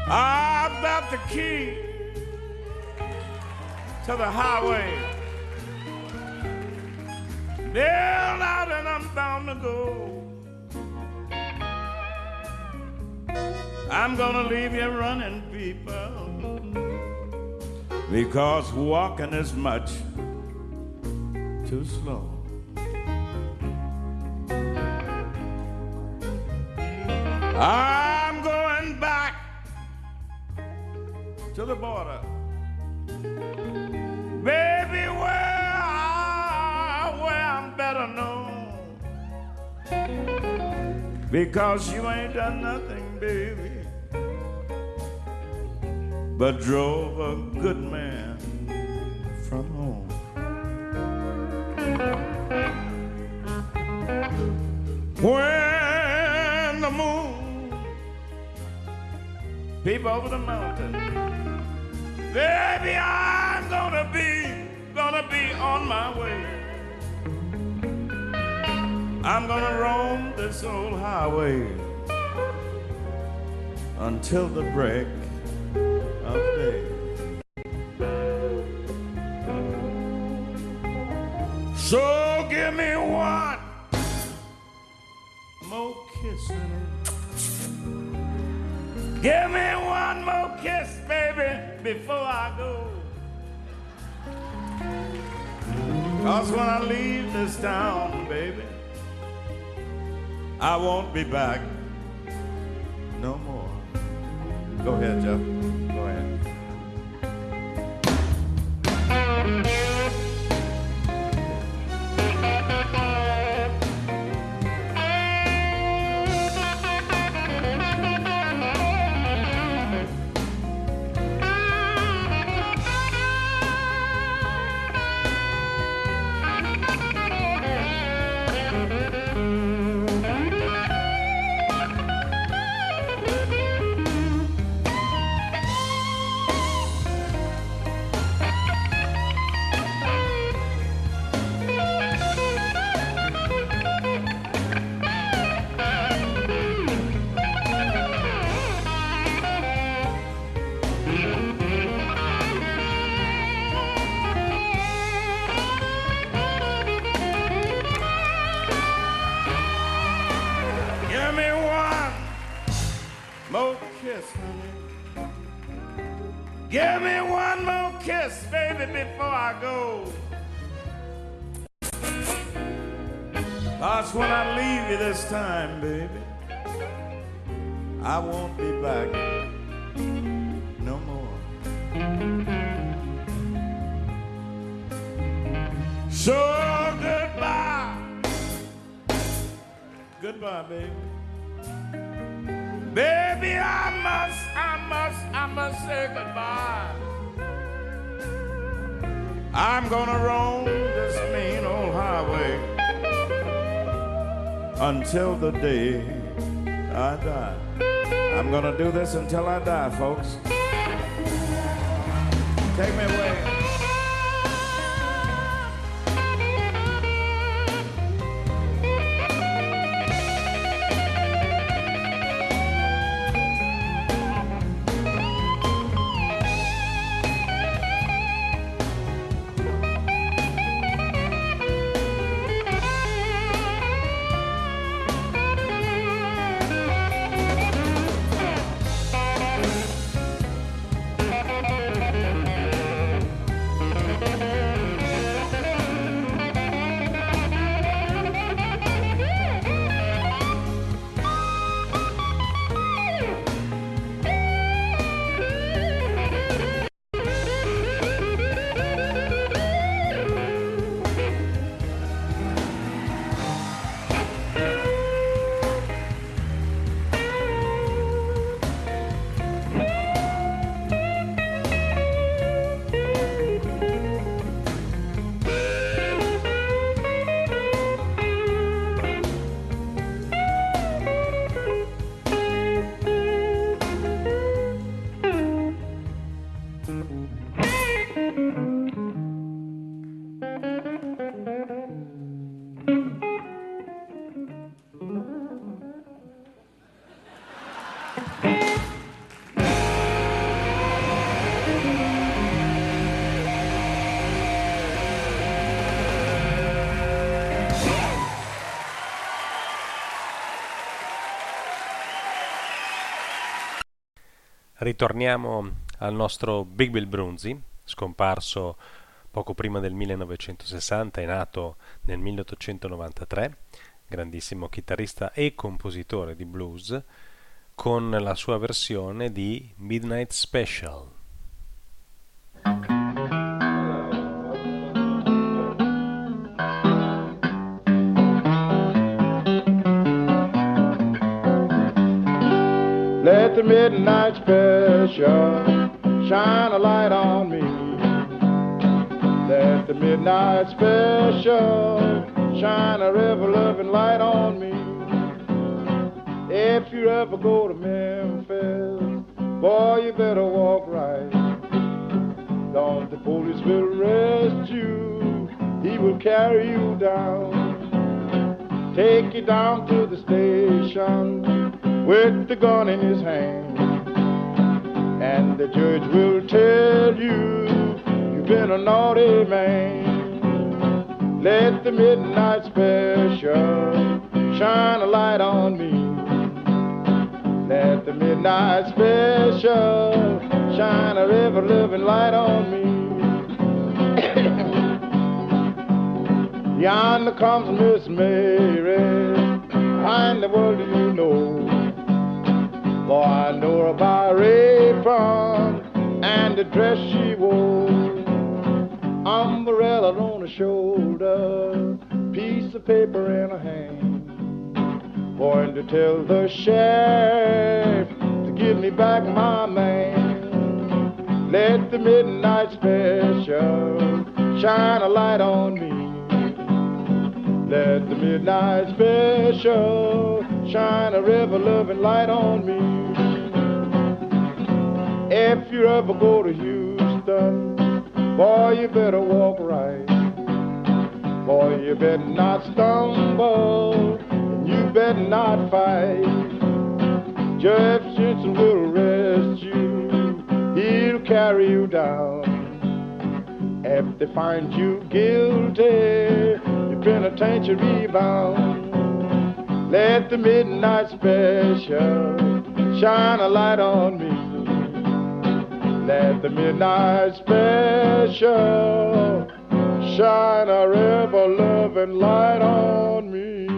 I've got the key to the highway. Nailed out and I'm bound to go. I'm gonna leave you running, people, because walking is much too slow. I'm going back to the border, baby, where, I, where I'm better known, because you ain't done nothing, baby, but drove a good man from home. When the moon peep over the mountain, baby, I'm gonna be, gonna be on my way. I'm gonna roam this old highway until the break of day. So give me one more kiss, honey. Give me one more kiss, baby, before I go. 'Cause when I leave this town, baby, I won't be back no more. Go ahead, Jeff. Go ahead. Give me one more kiss, baby, before I go. 'Cause when I leave you this time, baby, I won't be back no more. So goodbye, goodbye, baby. Baby, I must, I must, I must say goodbye. I'm gonna roam this mean old highway until the day I die. I'm gonna do this until I die, folks. Take me away. Ritorniamo al nostro Big Bill Broonzy, scomparso poco prima del millenovecentosessanta e nato nel milleottocentonovantatré, grandissimo chitarrista e compositore di blues, con la sua versione di Midnight Special. Let the midnight special shine a light on me. Let the midnight special shine a ever-loving light on me. If you ever go to Memphis, boy, you better walk right. Don't the police will arrest you, he will carry you down. Take you down to the station with the gun in his hand, and the judge will tell you you've been a naughty man. Let the midnight special shine a light on me. Let the midnight special shine a ever-living light on me. Yonder comes Miss Mary, how in the world do you know? Boy, I know her by her apron and the dress she wore. Umbrella on her shoulder, piece of paper in her hand, going to tell the sheriff to give me back my man. Let the midnight special shine a light on me. Let the midnight special shine a ever-loving light on me. If you ever go to Houston, boy, you better walk right. Boy, you better not stumble, and you better not fight. Jeff Simpson will arrest you, he'll carry you down. If they find you guilty, you're penitentiary bound. Let the midnight special shine a light on me. Let the midnight special shine a ever-loving light on me.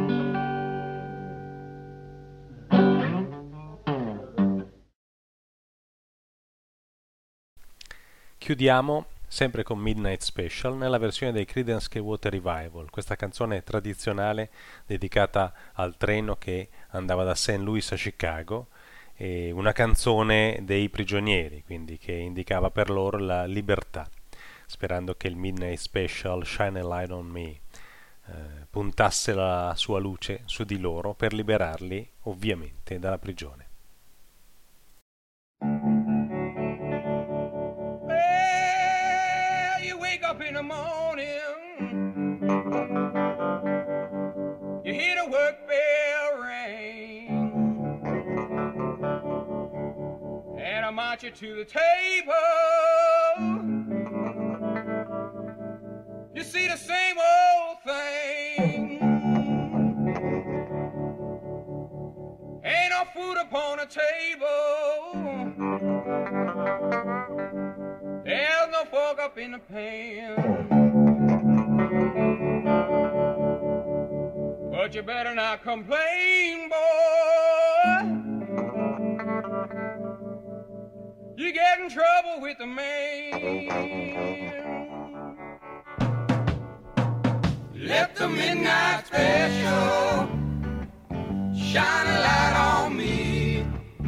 Chiudiamo sempre con Midnight Special nella versione dei Creedence Clearwater Revival, questa canzone tradizionale dedicata al treno che andava da Saint Louis a Chicago, e una canzone dei prigionieri, quindi che indicava per loro la libertà, sperando che il Midnight Special Shine a Light on Me eh, puntasse la sua luce su di loro per liberarli ovviamente dalla prigione. Well, you wake up in the morning, you hear the work bell ring, and I march you to the table. You see the same old thing. Ain't no food upon the table. There's no fork up in the pan. But you better not complain, boy. You get in trouble with the man. Let the midnight special shine a light on me.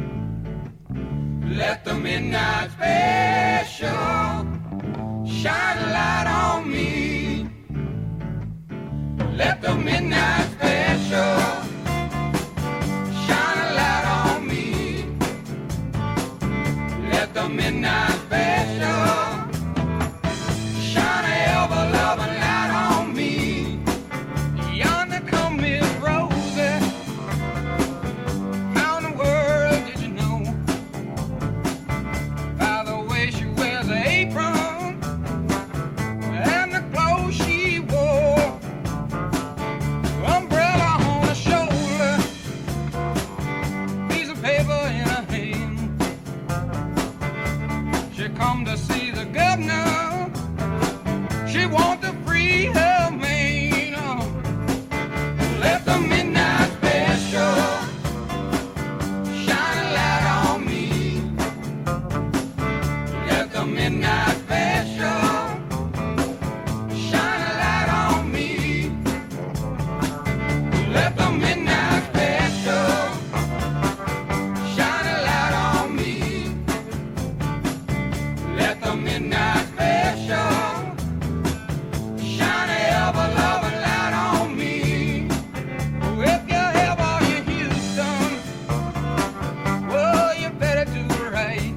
Let the midnight special shine a light on me. Let the midnight special shine a light on me. Let the midnight special shine a ever-loving light on me. Yonder come Miss Rosie. How in the world did you know? By the way she wears her apron and the clothes she wore. Umbrella on her shoulder, piece of paper in her hand, midnight special. Shine a light on me. Let the midnight special shine a light on me. Let the midnight special shine a ever loving light on me. If you ever in Houston, well, you better do right.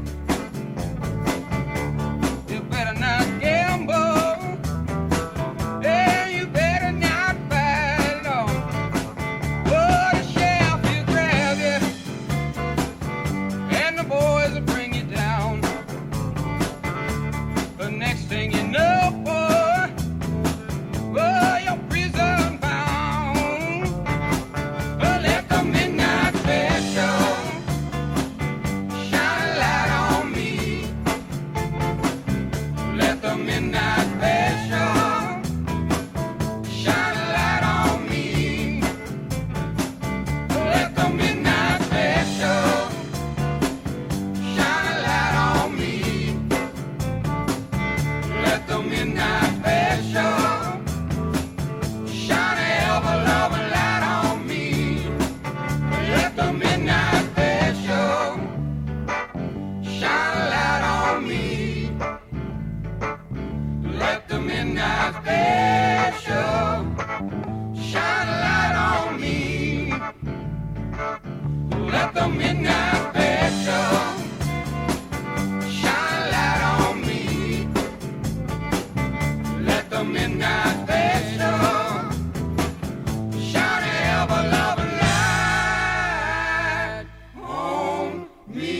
You better not gamble. Yeah, you better not fight, no. Oh, the sheriff will grab you, and the boys will bring you down. The next thing you know, boy, oh, you're prison bound. Oh, let the midnight special shine a light on me. Let the midnight special shine a light on me. Let the midnight special shine a light on me. Let the midnight special shine a ever loving light on me. Let the midnight special shine a light on me. Let the midnight special shine a light on me. Let the midnight special shine a light on me. Let the midnight special shine a ever loving light on me.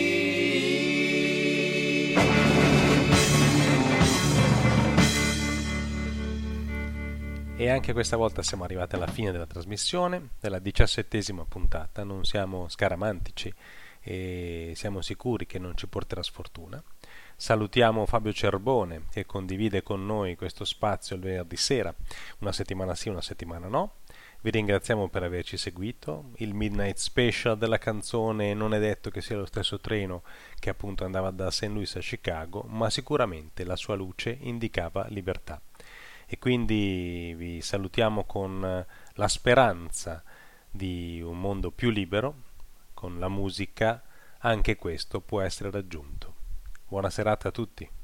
E anche questa volta siamo arrivati alla fine della trasmissione, della diciassettesima puntata. Non siamo scaramantici e siamo sicuri che non ci porterà sfortuna. Salutiamo Fabio Cerbone, che condivide con noi questo spazio il venerdì sera, una settimana sì, una settimana no. Vi ringraziamo per averci seguito. Il Midnight Special della canzone non è detto che sia lo stesso treno che appunto andava da Saint Louis a Chicago, ma sicuramente la sua luce indicava libertà. E quindi vi salutiamo con la speranza di un mondo più libero. Con la musica anche questo può essere raggiunto. Buona serata a tutti.